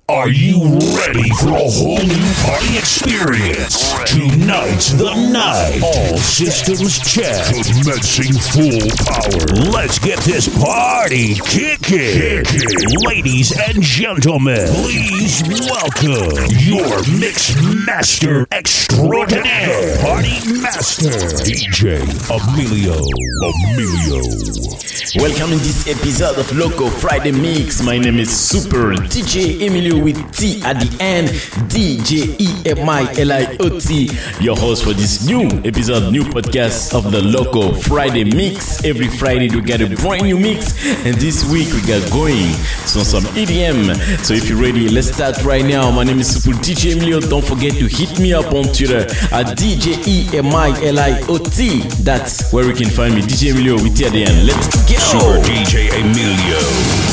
Are you ready for a whole new party experience? Tonight's the night. All systems check. Commencing full power. Let's get this party kicking. Ladies and gentlemen, please welcome your mix master extraordinaire, party master, DJ Emilio. Welcome in this episode of Loco Friday Mix. My name is Super DJ Emilio with T at the end, DJ EMILIOT, your host for this new episode, new podcast of the Loco Friday Mix. Every Friday we get a brand new mix, and this week we got going some EDM. So if you're ready, let's start right now. My name is Super DJ Emilio. Don't forget to hit me up on Twitter at DJ EMILIOT. That's where you can find me, DJ Emilio with T at the end. Let's go. Super DJ Emilio.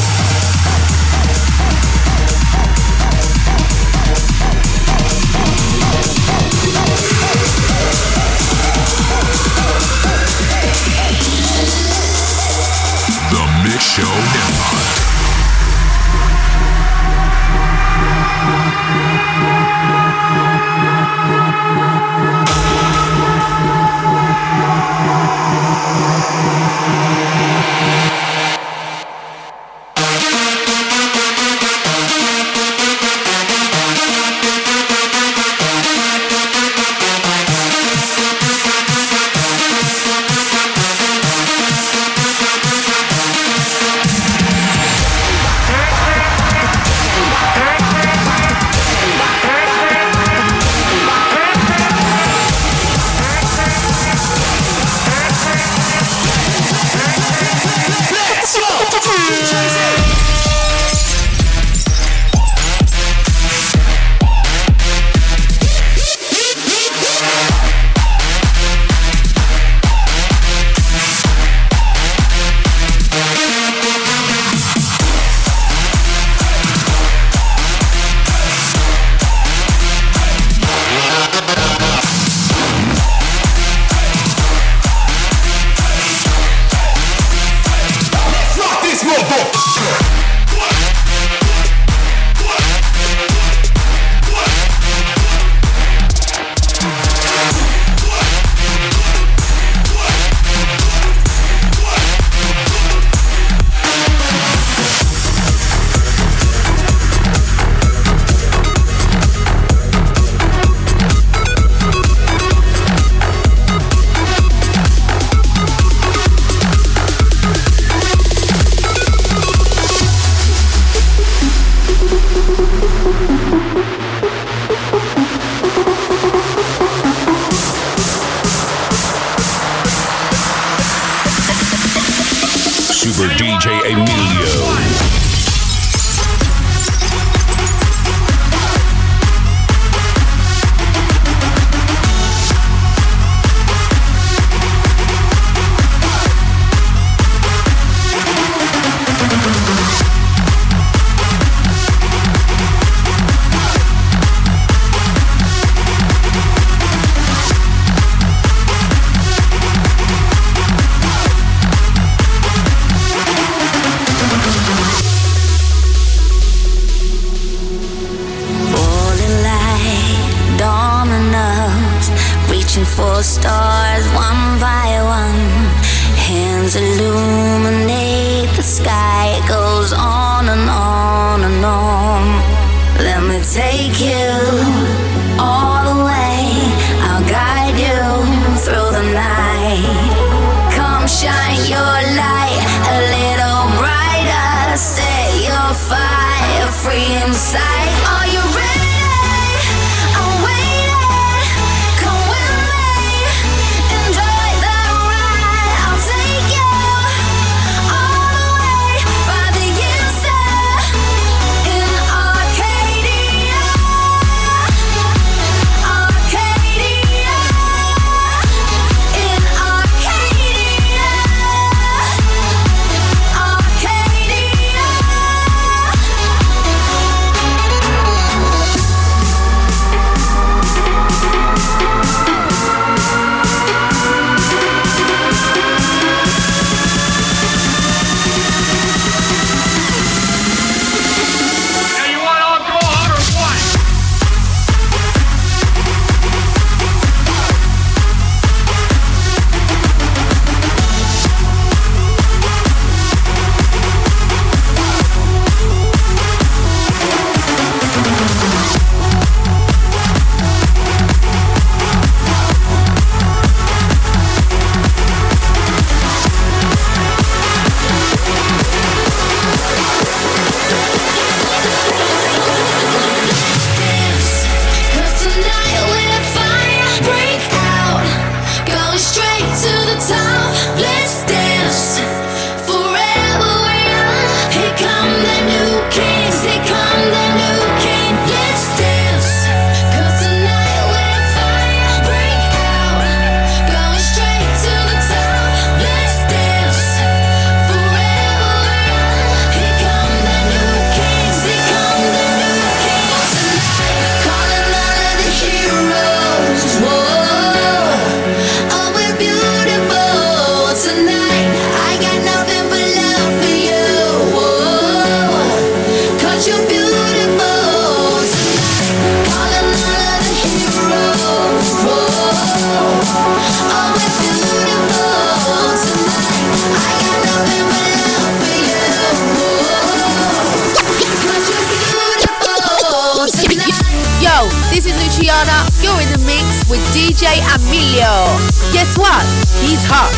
Show Empire. Super DJ Emilio. For stars one by one, hands illuminate the sky. It goes on and on and on. Let me take you all the way. I'll guide you through the night. Come shine your light a little brighter. Set your fire free inside. Are you ready? This is Luciana. You're in the mix with DJ Emilio. Guess what? He's hot.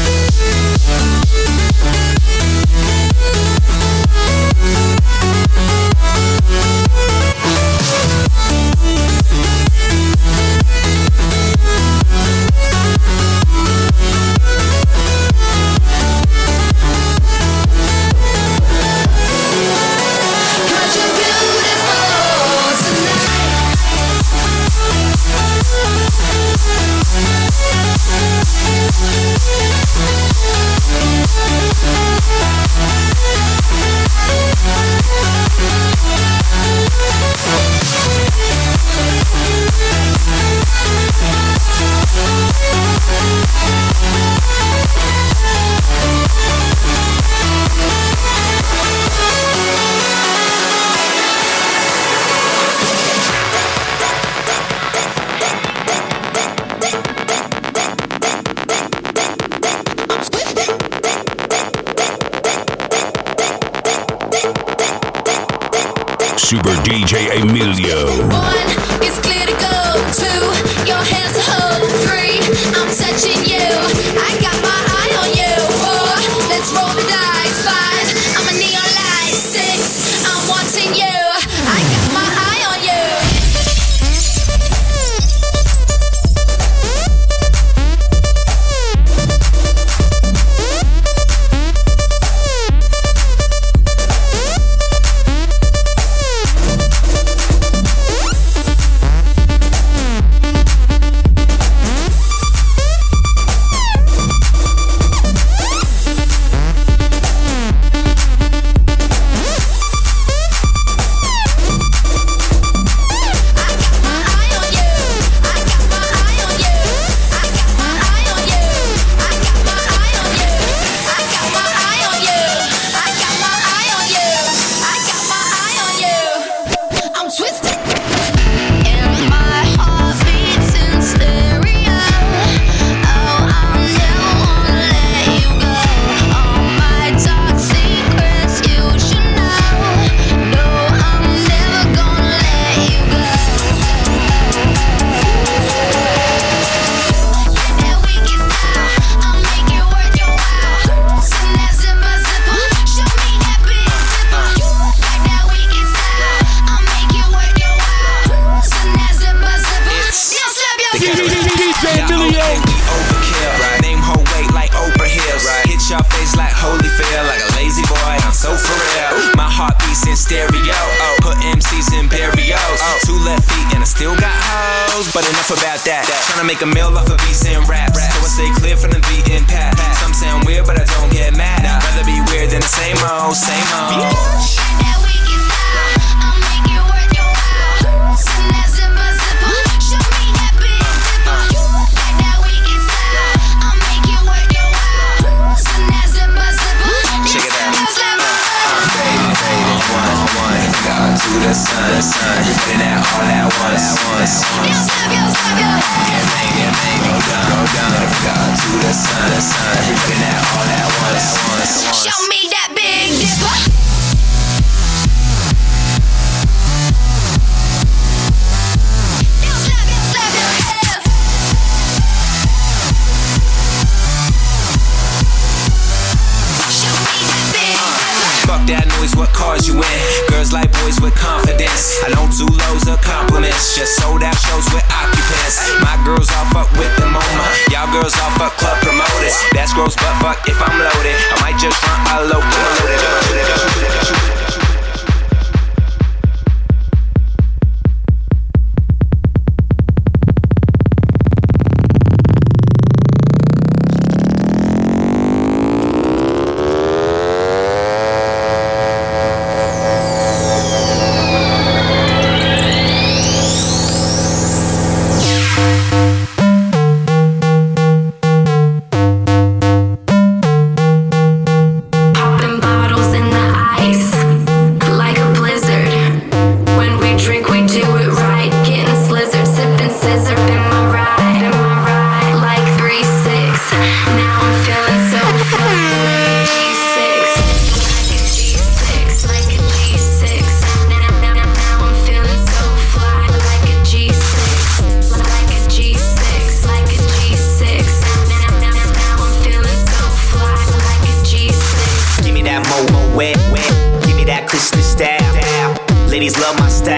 Super DJ Emilio. 1, it's clear to go. 2, your hands to hold. 3, I'm touching you. I got my eye on you. 4, let's roll the dice. 5, I'm a neon light. 6, I'm wanting you. I got my eye on you. Make a meal off of beats and raps. So I stay clear from the beaten path. Some sound weird, but I don't get mad. Rather be weird than the same old, same old. That wicked style, I'll make it worth your while. Send that zipper, zipper, show me that big zipper. Like that wicked style, I'll make it worth your while. Send that zipper, zipper. Check it out. Faded, one. Got to the sun. Putting that all at once. Yo, stop, yo. Go down, got to the sun. Putting that all at once. Show me that big dipper. That noise, what cars you in? Girls like boys with confidence. I don't do loads of compliments. Just sold out shows with occupants. My girls all fuck with the MoMA. Y'all girls all fuck club promoters. That's gross, but fuck if I'm loaded. I might just run a locomotive. Popping bottles in the ice.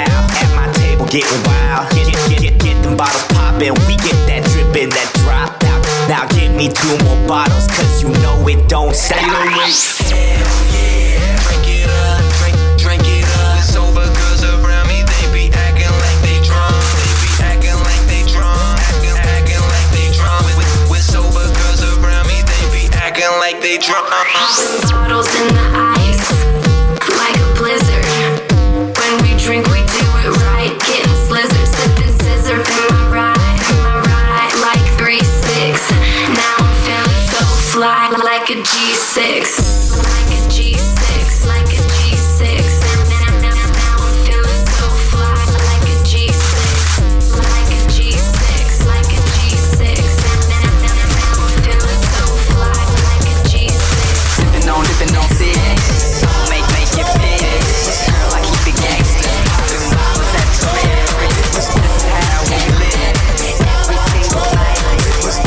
style. At my table, getting wild. Get them bottles poppin'. We get that drippin', that drop out. Now give me 2 more bottles, cause you know it don't stop. Hell yeah, drink it up, drink it up. Sober girls around me, they be acting like they drunk. They be acting like they drunk, acting like they drunk. With sober girls around me, they be acting like they drunk. Bottles in the ice, like a blizzard. When we drink, we do it right. Getting slizzard, sipping scissor in my ride, like 3-6. Now I'm feeling so fly, like a G6, like a G6, like a G6. Now I'm feeling so fly, like a G6, like a G6, like a G6. Now I'm feeling so fly, like a G6. Dipping on six, make it fit. Girl, I keep it gangsta. Them bottles that trip. That's how we live. Every single night. It was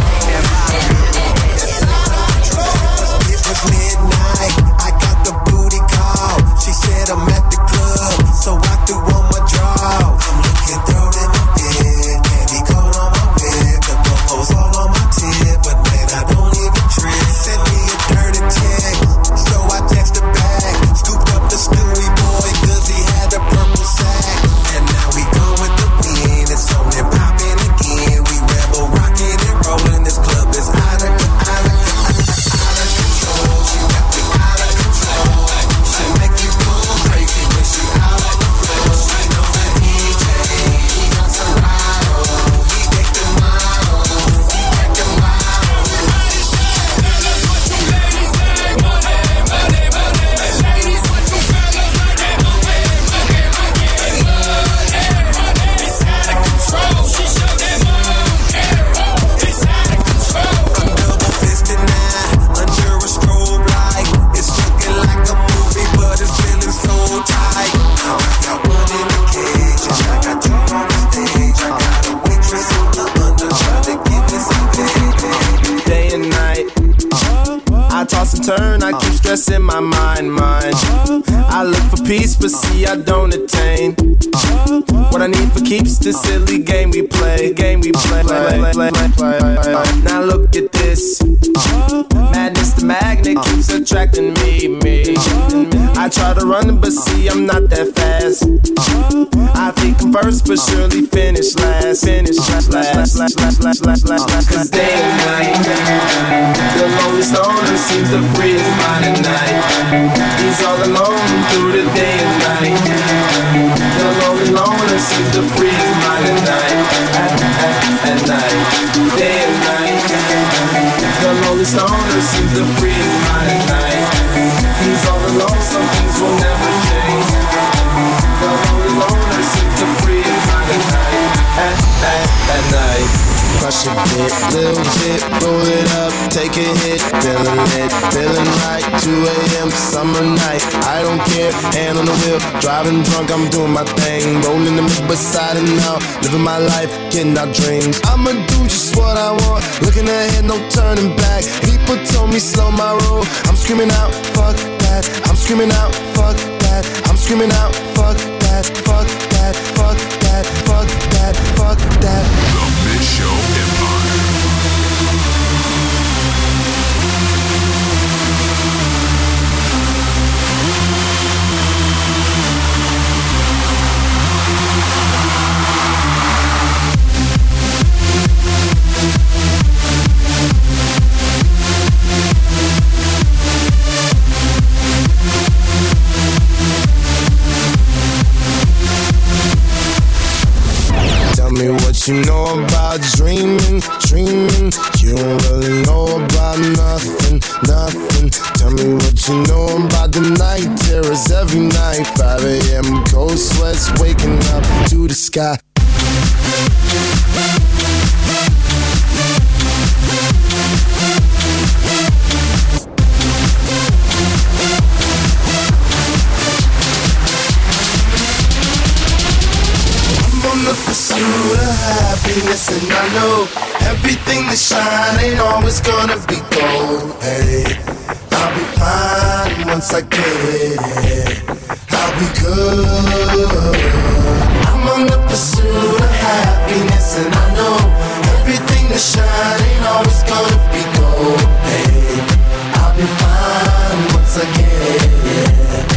midnight, I got the booty call. She said I'm at the club, so I threw on my draw. I'm looking through in my bed, candy cold on my bed. The bubbles all on my tip, but man, I don't even trip. Send me a dirty text, so I text her back. Scooped up the Stewie boy, cause he had a purple sack. And now we go with the wind, it's on and popping again. We rebel, rocking and rolling, this club is out of control. She got me out of control. She make you go crazy when she out on the floor. She know the DJ, he got Serato. He take the model, he take the model. Ladies, what you ladies say? Money. Ladies, what you fellas like? Money. It's out of control. She showed them all. It's out of control. I'm double fisted now, under a strobe light. It's looking like a movie, but it's feeling so tight. Now I got one in the cage, and I got 2 on the stage. I got a waitress on the under trying to give me some pay. Day and night, I toss and turn, I keep stressing my mind. I look for peace, but see I don't attain. What I need for keeps this silly game we play. Now look at this, madness, the magnet keeps attracting me. I try to run, but see I'm not that fast. I think I'm first, but surely finish last. Cause day and night, the lonely stoner seems to free his mind at night. He's all alone through the day and night. The lonely loner seems to free his mind at night. At night, day and night. The lonely stoner seems to free his mind at night. He's all alone, some things will never change. The lonely loner seems to free his mind at night. At night. Crush a bit, little bit, roll it up, take a hit, feeling right, 2 a.m. summer night, I don't care, hand on the wheel, driving drunk, I'm doing my thing, rolling the mid beside and out, living my life, getting our dreams, I'ma do just what I want, looking ahead, no turning back, people told me slow my roll, I'm screaming out, fuck that, I'm screaming out, fuck that, I'm screaming out, fuck that, fuck that, fuck that, fuck that, fuck that. The Mix Show Empire. Tell me what you know about dreaming. You don't really know about nothing. Tell me what you know about the night terrors every night. 5 a.m. cold sweats waking up to the sky. On the pursuit of happiness, and I know everything that shine ain't always gonna be gold. Hey, I'll be fine once I get it. I'll be good. I'm on the pursuit of happiness, and I know everything that shine ain't always gonna be gold. Hey, I'll be fine once I get it.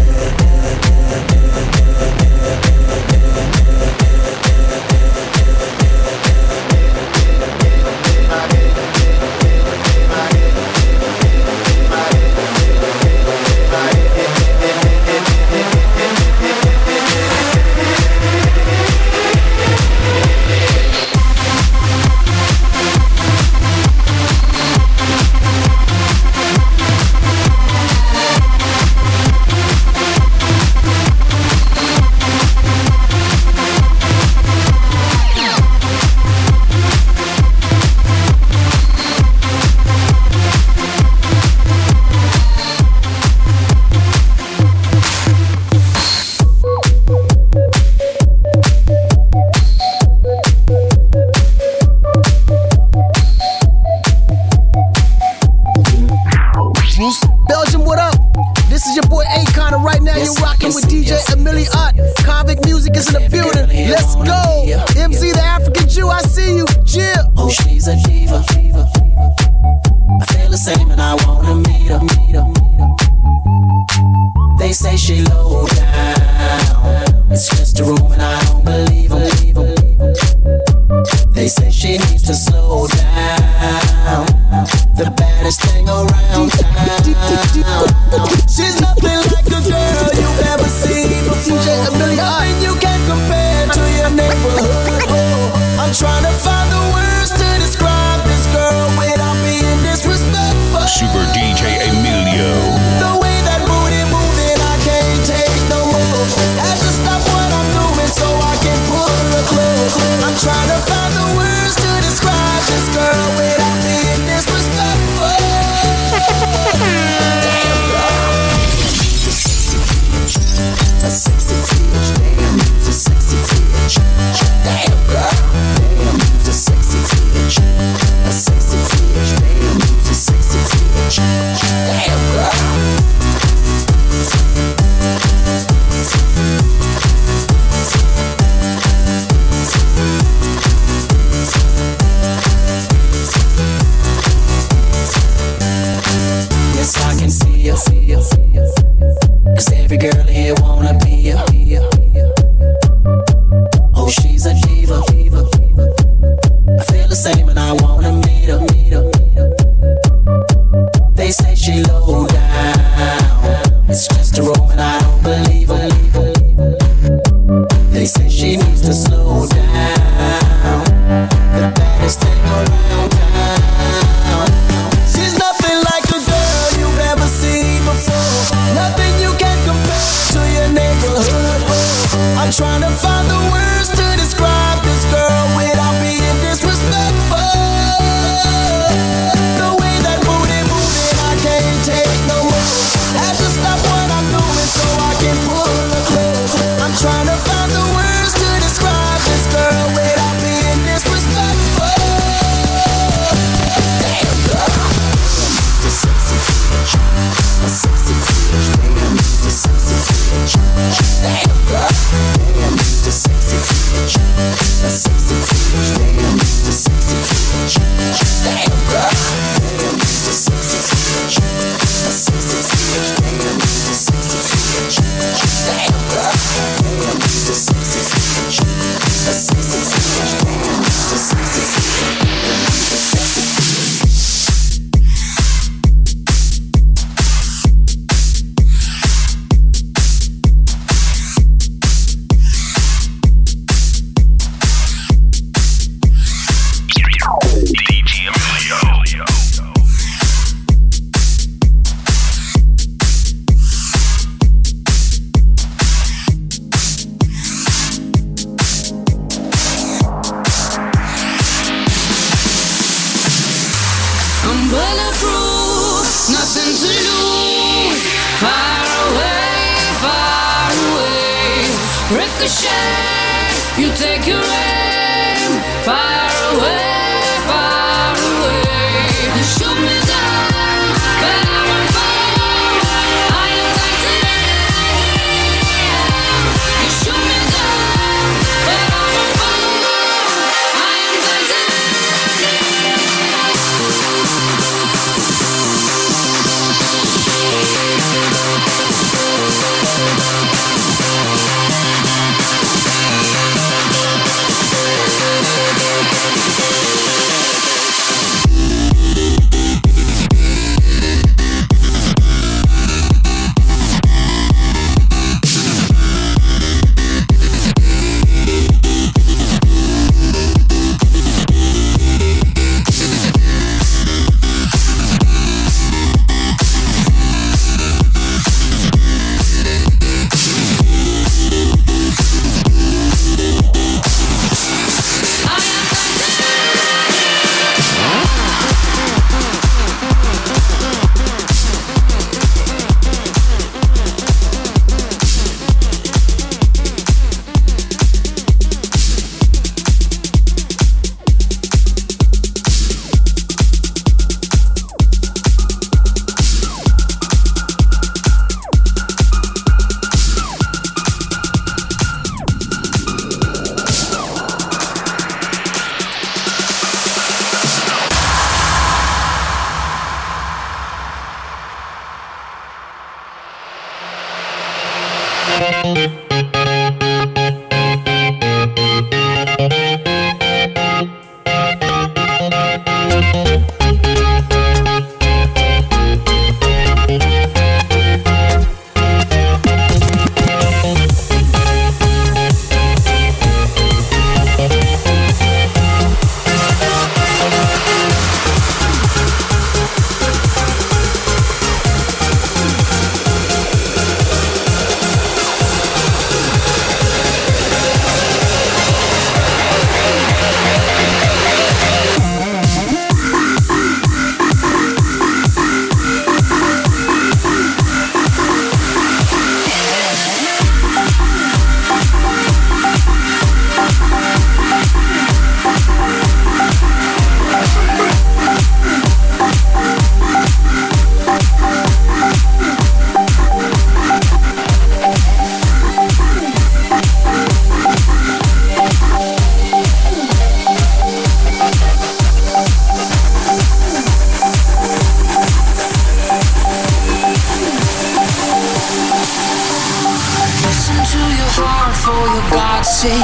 Belgium, what up? This is your boy Akon, and right now you're rocking with DJ Emilio. Convict Music is in the building. Let's go. MZ, the African Jew, I see you. Jill. Oh, she's a diva. I feel the same and I wanna meet her. They say she low down. It's just a room and I don't believe them. They say she needs to slow down. The baddest thing around town. She's nothing like a girl you've ever seen before. Nothing you can compare to your neighborhood. I'm trying to find the words to describe this girl without being disrespectful. Super DJ Emilio. The way that booty moving, I can't take no more. Had to stop what I'm doing so I can pull her close. I'm trying to find the words to describe this girl without being disrespectful. Damn girl, a sexy bitch. Damn, you's a sexy bitch. Damn girl, damn, you's a sexy bitch. A sexy bitch. Damn, you's a sexy bitch. Damn girl. Yes, I can see you. 'Cause every girl here wanna be you. Oh, she's a diva. I feel the same and I wanna meet her. They say she low down. It's just a room and I don't believe her. They say she needs to slow down. The baddest thing around town. She's nothing like a girl you've ever seen before. Nothing you can compare to your neighborhood. I'm trying to find the words to describe this girl without being disrespectful. The way that booty moving, I can't take no more. Had to stop what I'm doing so I can pull her close. I'm trying to find the words to describe this girl without being disrespectful. Damn girl, you're a sexy bitch. A sexy bitch. Damn, you're a sexy bitch. Damn girl, damn, you're a sexy bitch. A sexy bitch. Damn, you're a sexy bitch. Damn girl, damn, you're a sexy bitch. A sexy bitch. Damn, you're a sexy bitch. Damn girl, damn, you're a sexy bitch. A sexy bitch. Damn, you're a sexy bitch. I'm bulletproof, nothing to lose. Far away. Ricochet, you take your aim. Far away. You shoot me down, but I won't fall. I am Titanic.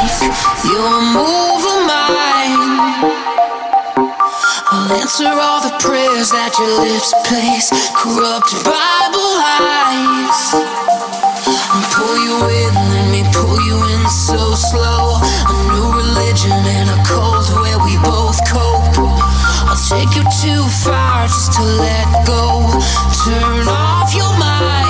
your move of mine. I'll answer all the prayers that your lips place, corrupted Bible lies. I'll pull you in, let me pull you in so slow. A new religion and a cult where we both cope. I'll take you too far just to let go. Turn off your mind.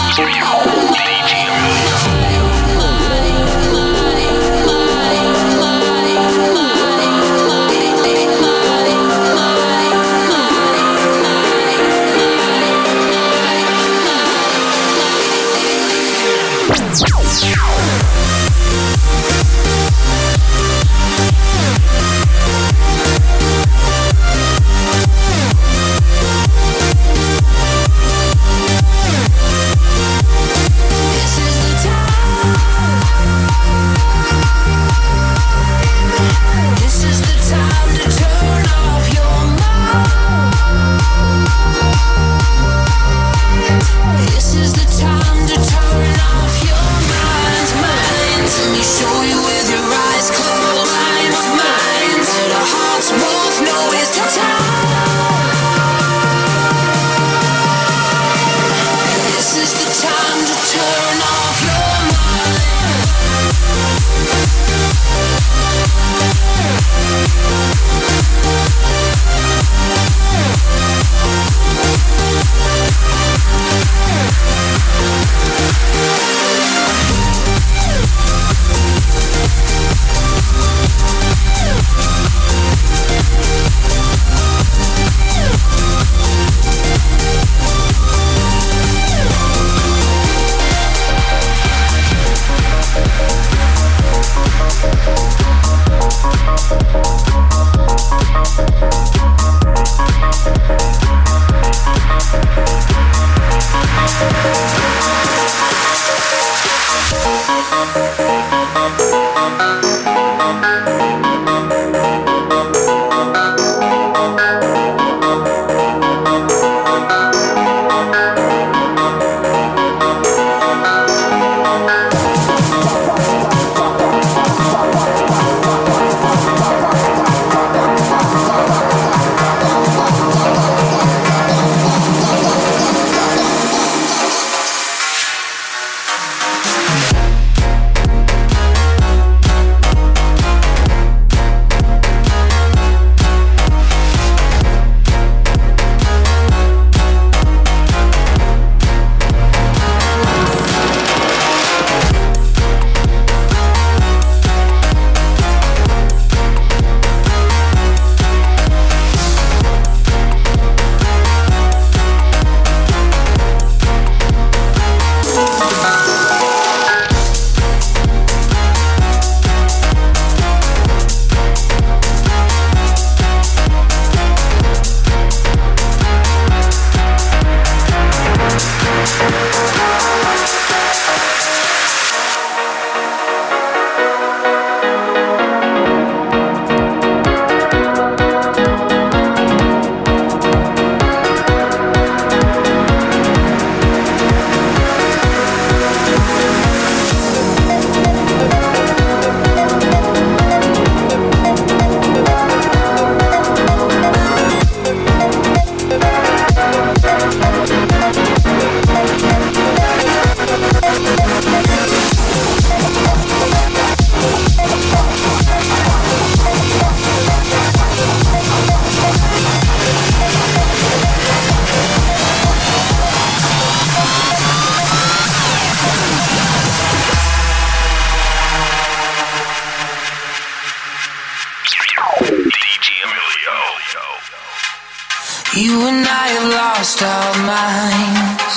You and I have lost our minds.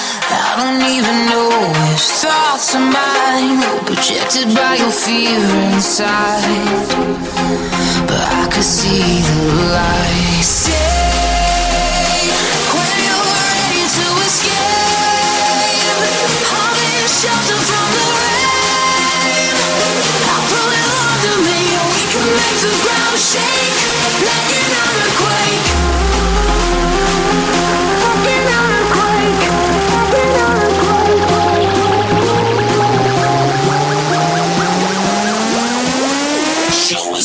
I don't even know which thoughts are mine. We're projected by your fear inside, but I could see the light. Say when you're ready to escape, I'll be shelter from the rain. I'll pull you under me, we can make the ground shake like an earthquake.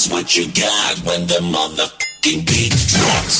That's what you got when the motherfucking beat drops.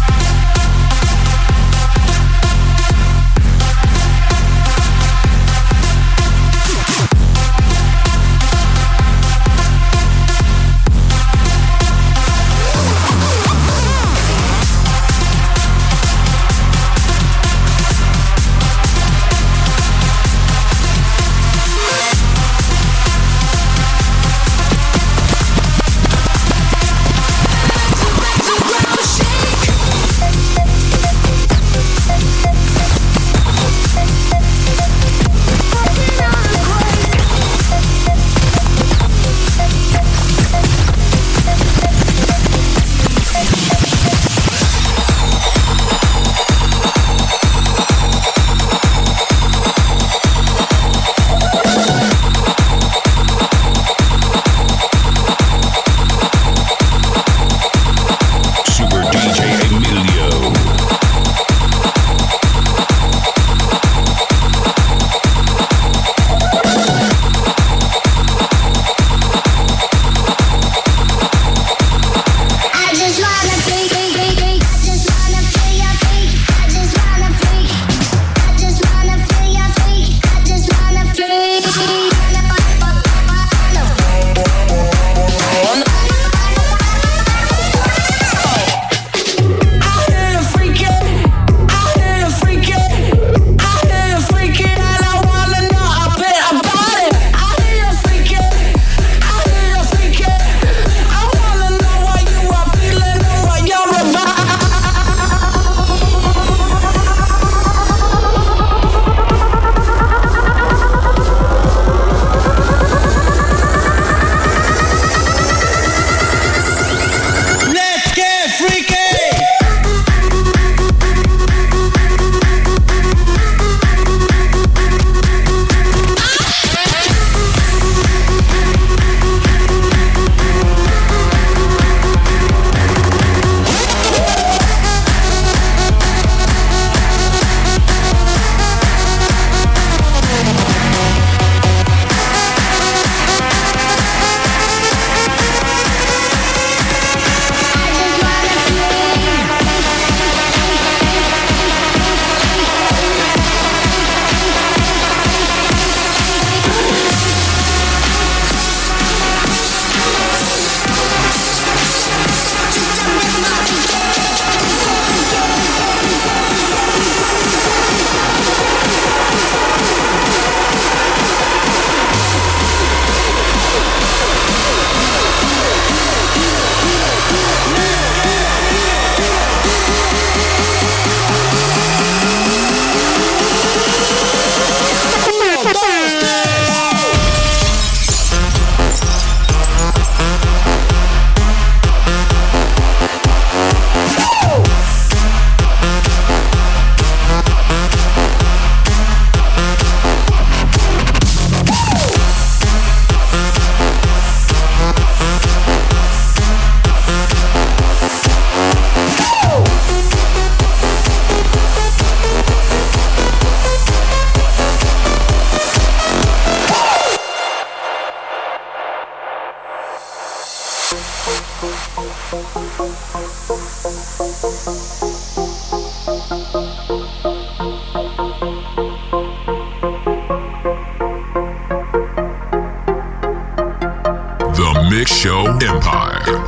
The Mix Show Empire.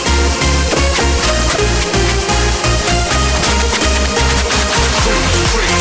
Free.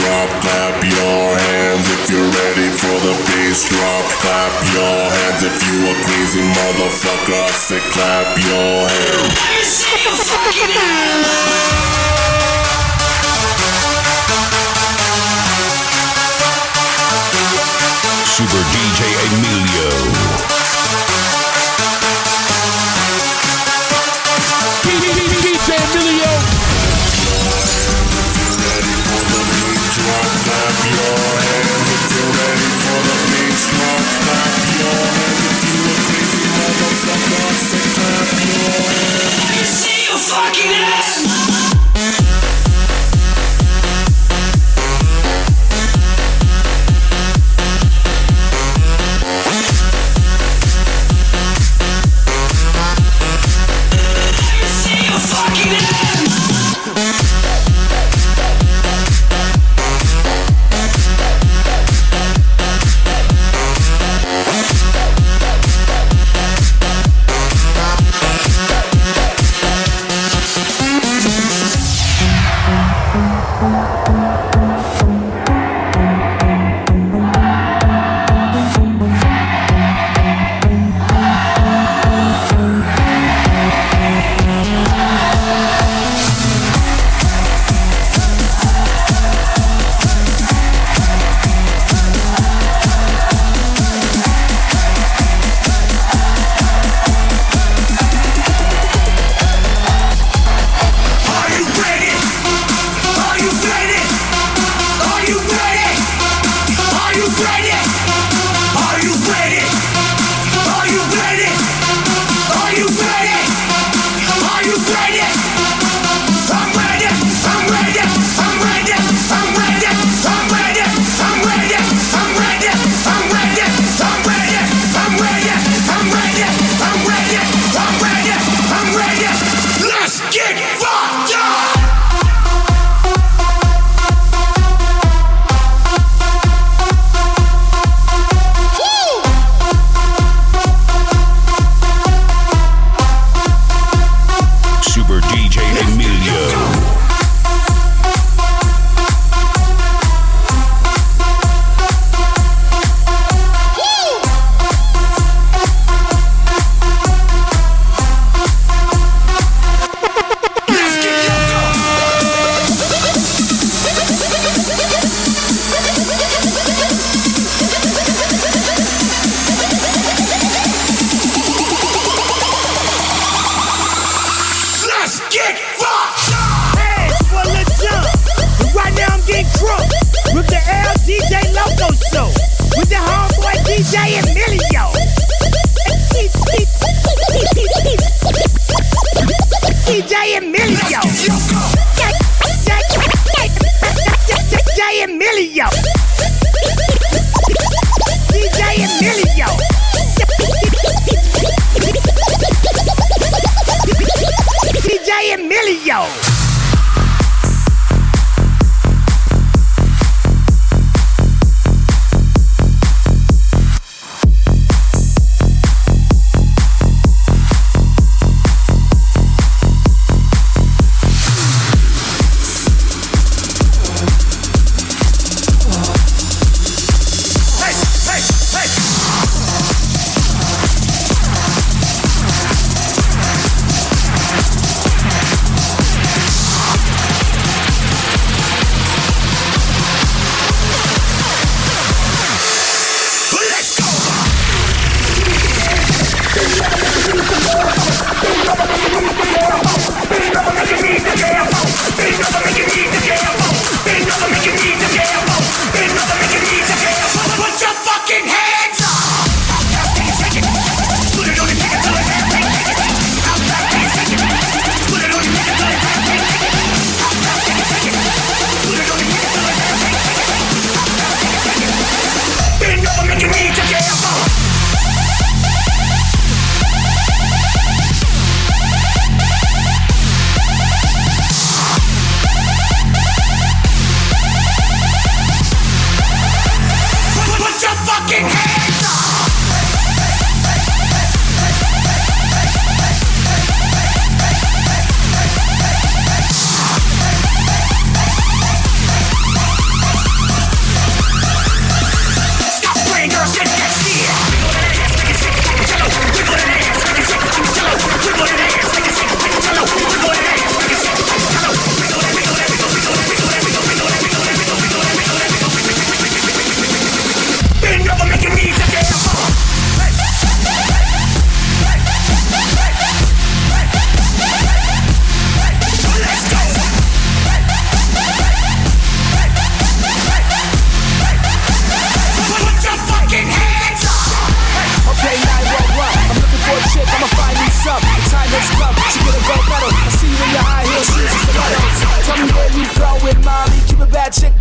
drop. Clap your hands if you're ready for the bass drop. Clap your hands if you a crazy motherfucker. I say clap your hands. Let me see you fucking hands. Super DJ Emilio. DJ Emilio. Ready for the beat drop? Clap your hands if you're ready for the bass drop. Clap your hands if you a crazy motherfucker. Say clap your hands. Let me see you fucking hands.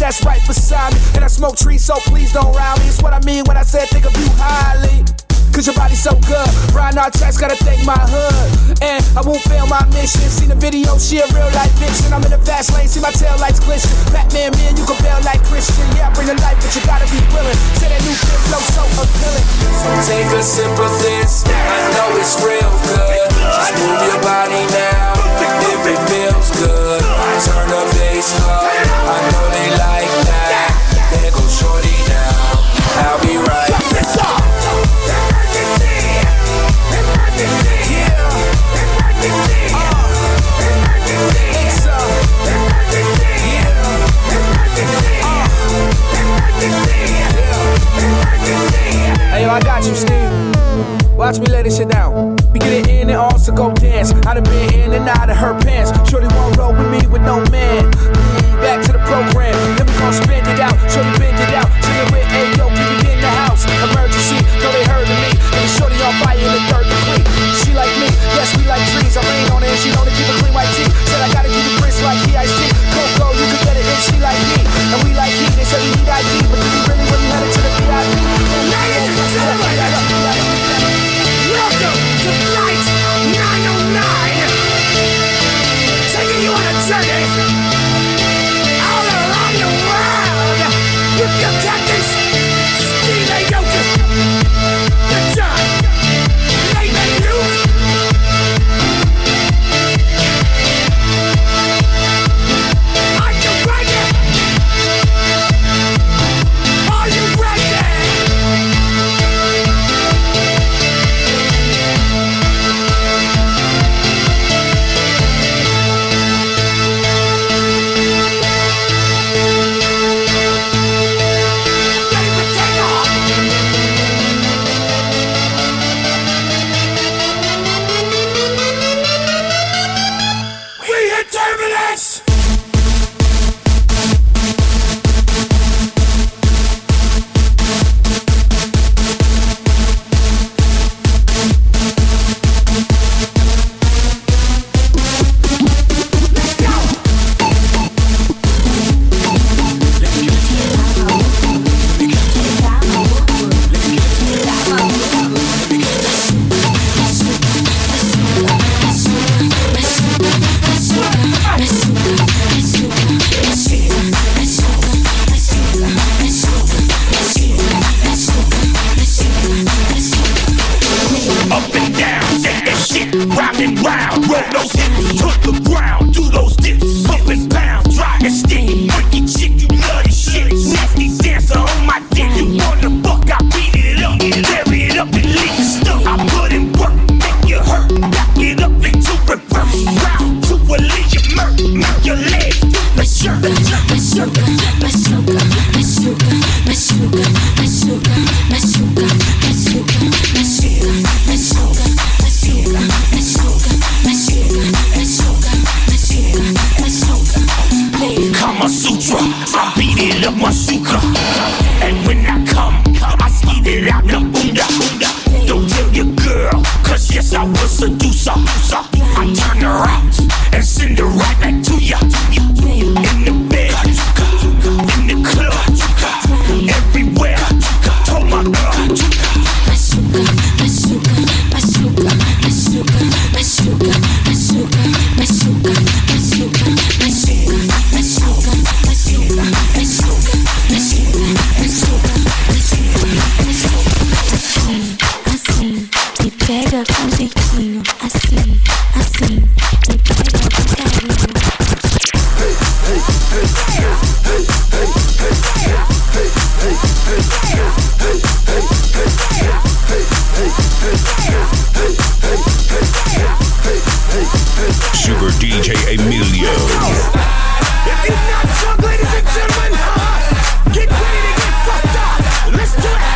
that's right beside me. And I smoke trees, so please don't rile me. It's what I mean when I said think of you highly. Cause your body's so good. Brian Archex gotta thank my hood. And I won't fail my mission. Seen the video, she a real life vixen. I'm in the fast lane, see my tail lights glisten. Batman, man, you can bail like Christian. Yeah, I bring the life, but you gotta be willing. Say that new kid flow so appealing. So take a sip of this, I know it's real good. Just move your body now, if it feels good. Turn the bass up, I know they like that. There goes shorty now, I'll be right back. Hey, yo, I got you, Steve. Watch me lay this shit down. We get it in and also go dance. I done been in and out of her pants. Shorty won't roll with me with no man. Back to the program, then we gon' spend it out. Shorty bend it out, chillin' with Ayo, keep it in the house. Emergency, though they heard of me. And shorty on fire in the third degree. She like me, yes, we like trees. I rain on it and she know to keep a clean white tee. Said I gotta keep it crisp like P.I.C. Coco, you can get it if she like me. And we like heat, they say we need ID. But do we really when we headed to the VIP? Welcome to Flight 909, taking you on a journey all around the world with your captains, Steve Aoki, the John, Layman Luke. Are you ready? Are you ready? Super DJ Emilio. If you're not drunk, ladies and gentlemen, get ready to get fucked up. Let's do it.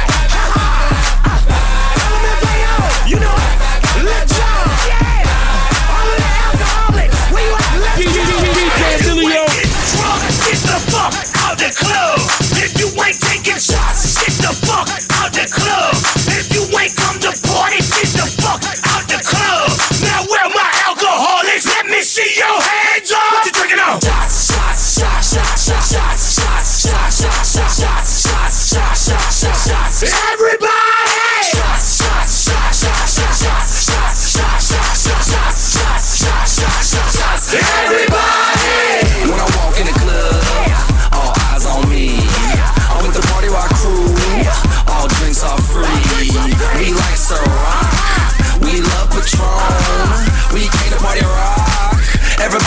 LMFAO, you know it. Let's go. Yeah. All of the alcoholics, where you at? Let's go. DJ Emilio. Get drunk, get the fuck out the club. If you ain't taking shots, get the fuck out the club. If you ain't come to party, get the fuck out the club. Now where my alcoholics? Let me see your hands up. What you drinking on? Shots, shots, shots, shots, shots, shots, shots.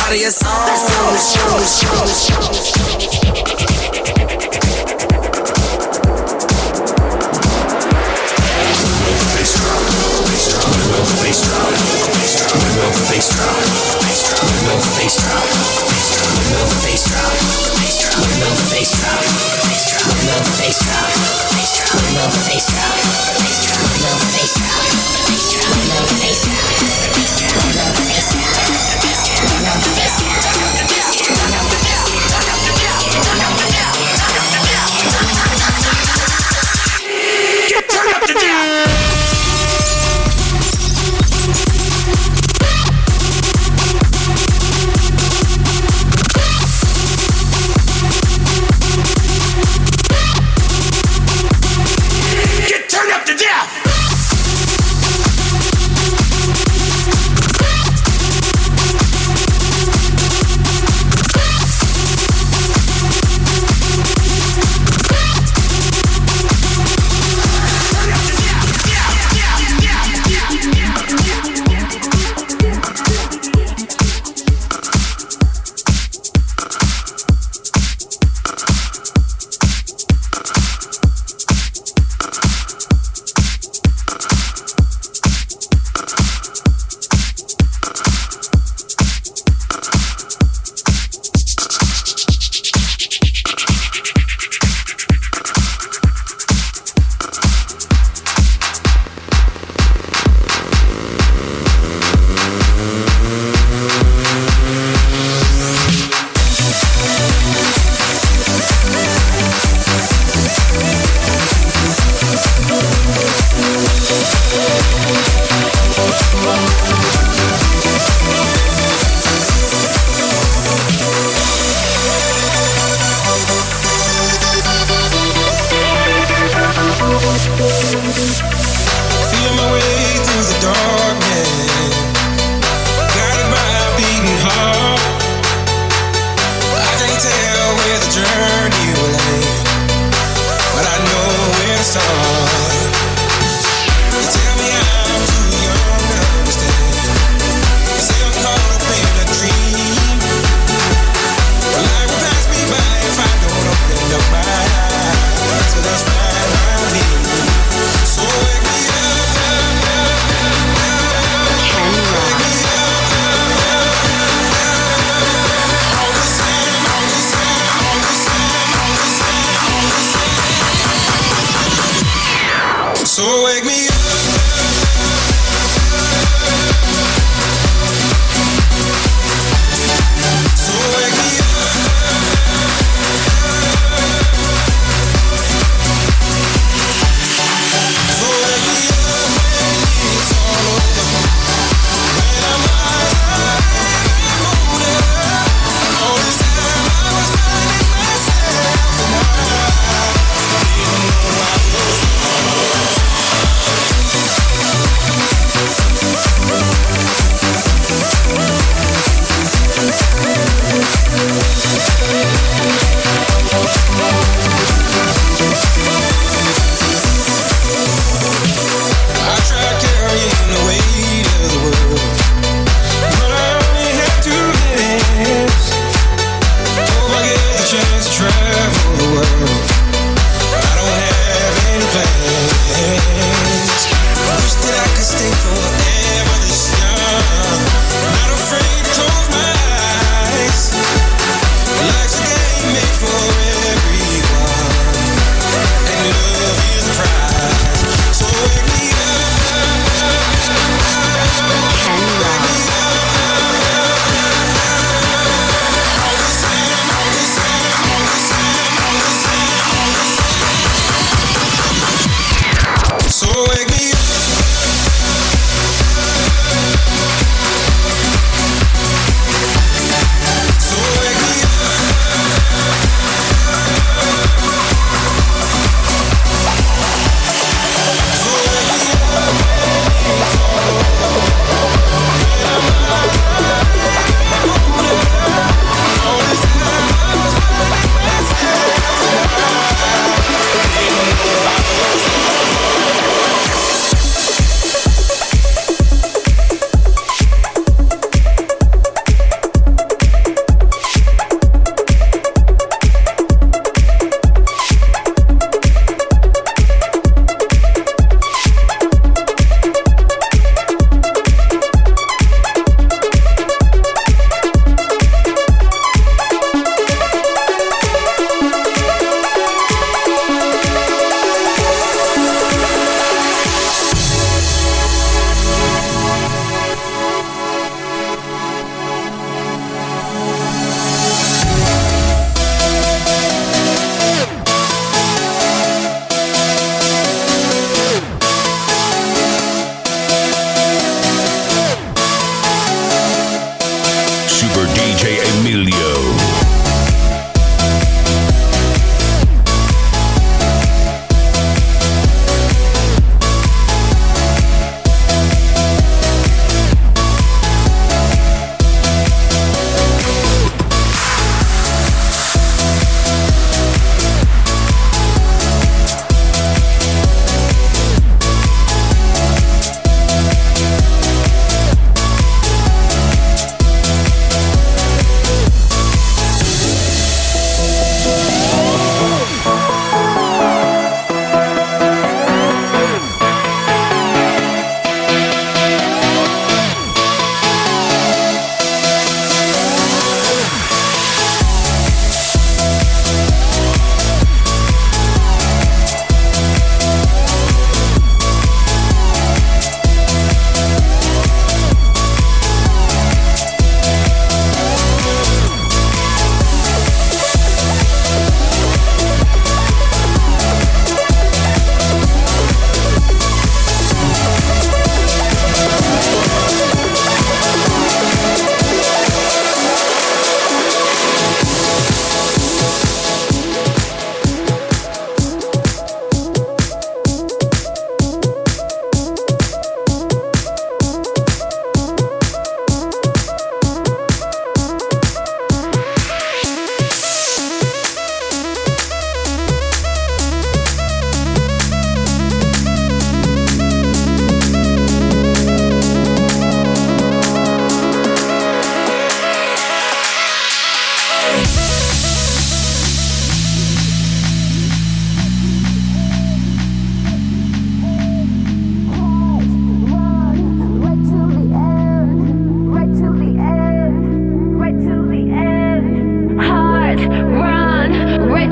out of your Turn up the jam.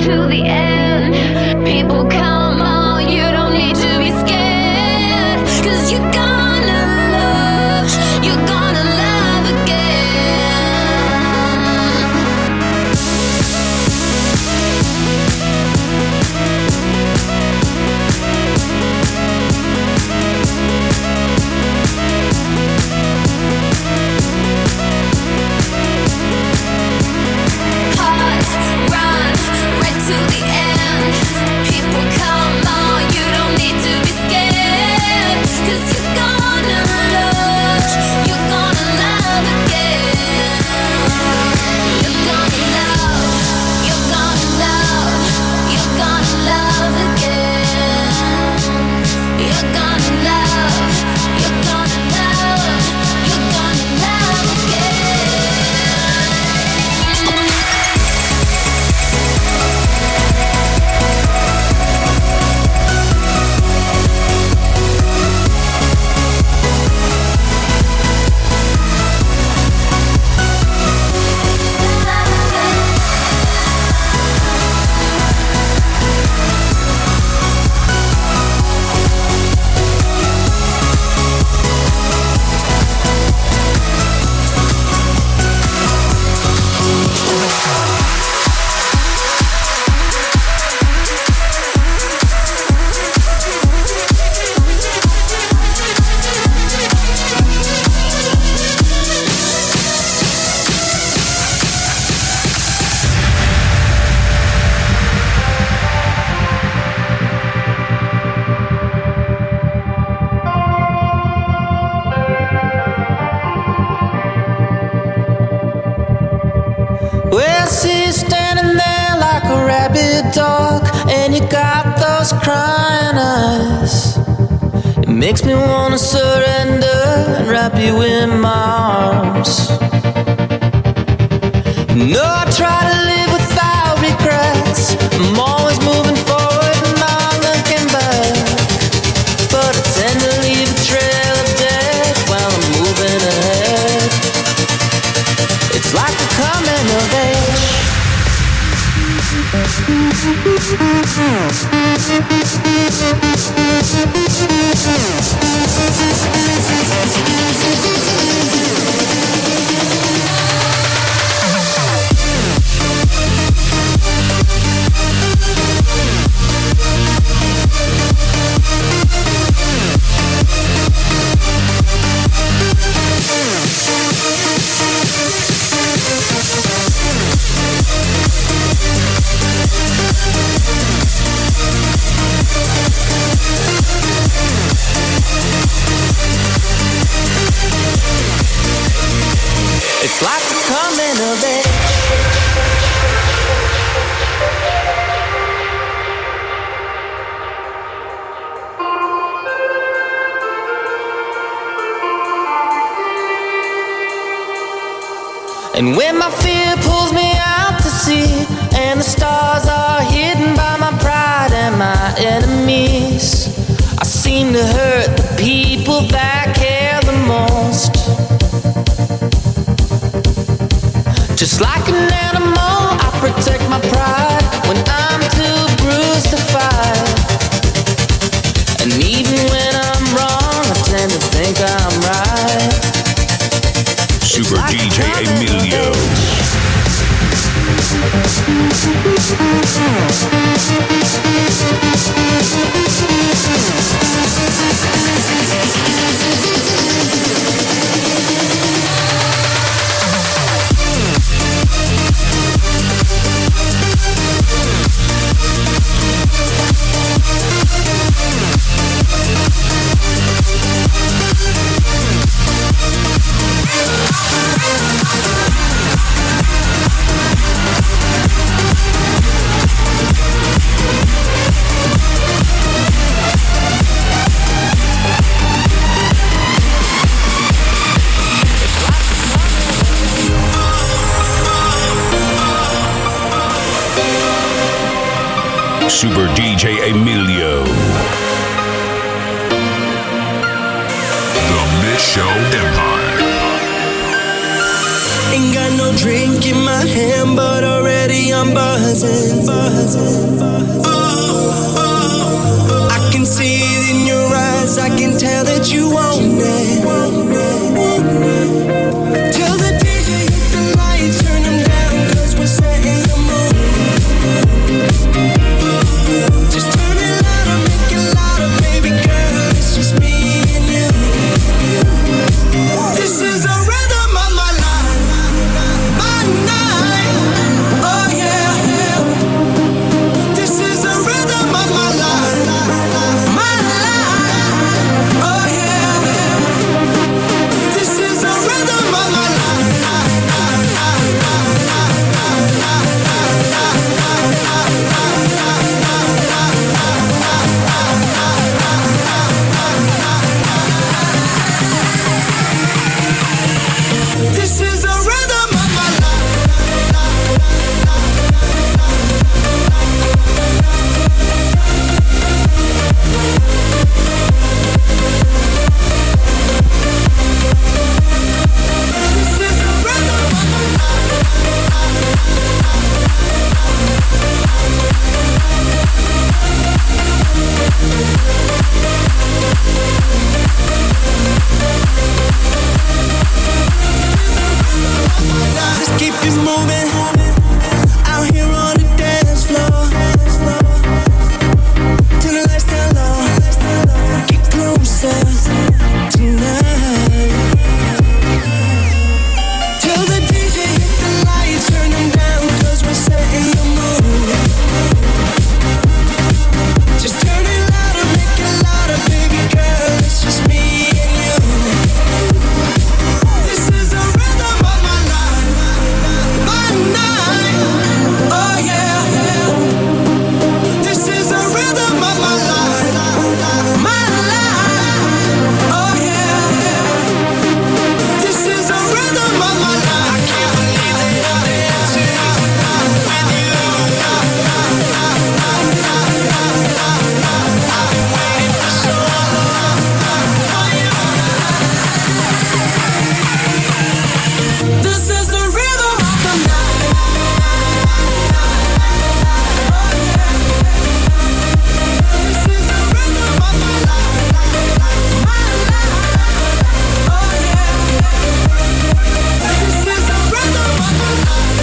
to the end. People come on, you don't need to be scared. 'Cause you're gonna love again. Pause, run, right to the end. People come on, you don't need to be scared. 'Cause you're gonna love again. You're gonna love again. You're gonna love Well, she's standing there like a rabid dog, and you got those crying eyes. It makes me wanna surrender and wrap you in my arms. No, I try to live without regrets. I'm always moving forward and not looking back, but I tend to leave a trail of death while I'm moving ahead. It's like the coming of age. It's like the coming of age. And when my fear pulls me out to sea, and the stars are hidden by my pride and my enemies, I seem to hurt the people that care the most. Just like an animal, I protect my pride when I'm too bruised to fight. And even when I'm wrong, I tend to think I'm right. Super like DJ Emilio. Super DJ Emilio. The Mix Show Empire. Ain't got no drink in my hand, but already I'm I'm buzzing. I can see it in your eyes, I can tell that you want it. Tell the DJ hit the lights, turn them down, cause we're setting the mood. Just turn it louder, make it louder, baby girl, it's just me and you. This is the rhythm of my life, my night, oh yeah. This is the rhythm of my life, my life, oh yeah. This is the rhythm of my life. This is the rhythm of my Just keep it moving out here on the dance floor. Till the lights down low, get closer tonight. Tell the DJ hit the lights, turn them down, cause we're setting the mood. Just turn it louder, make it louder, baby girl, it's just me and you. This is the rhythm of my life, my night, oh yeah. This is the rhythm of my life, my life, oh yeah. This is the rhythm of my life. I can't believe that I'm dancing with you. I've been waiting for so long for you. This is the rhythm of the night. This is the rhythm of my life, my life, oh yeah. This is the rhythm of my life.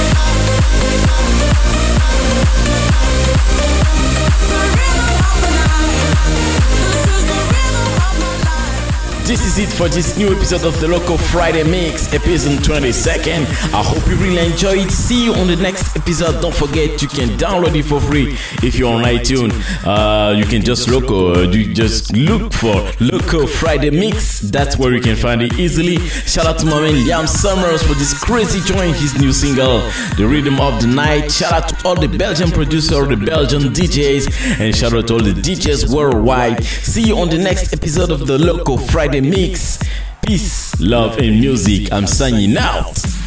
This is it for this new episode of the Loco Friday Mix, episode 22nd. I hope you really enjoy it. See you on the next episode. Don't forget you can download it for free if you're on iTunes. You can just look for Loco Friday Mix. That's where you can find it easily. Shout out to my man Liam Summers for this crazy joint, his new single, The Rhythm of the Night. Shout out to all the Belgian producers, the Belgian DJs, and shout out to all the DJs worldwide. See you on the next episode of the Loco Friday Mix. Peace, love, and music. I'm signing out.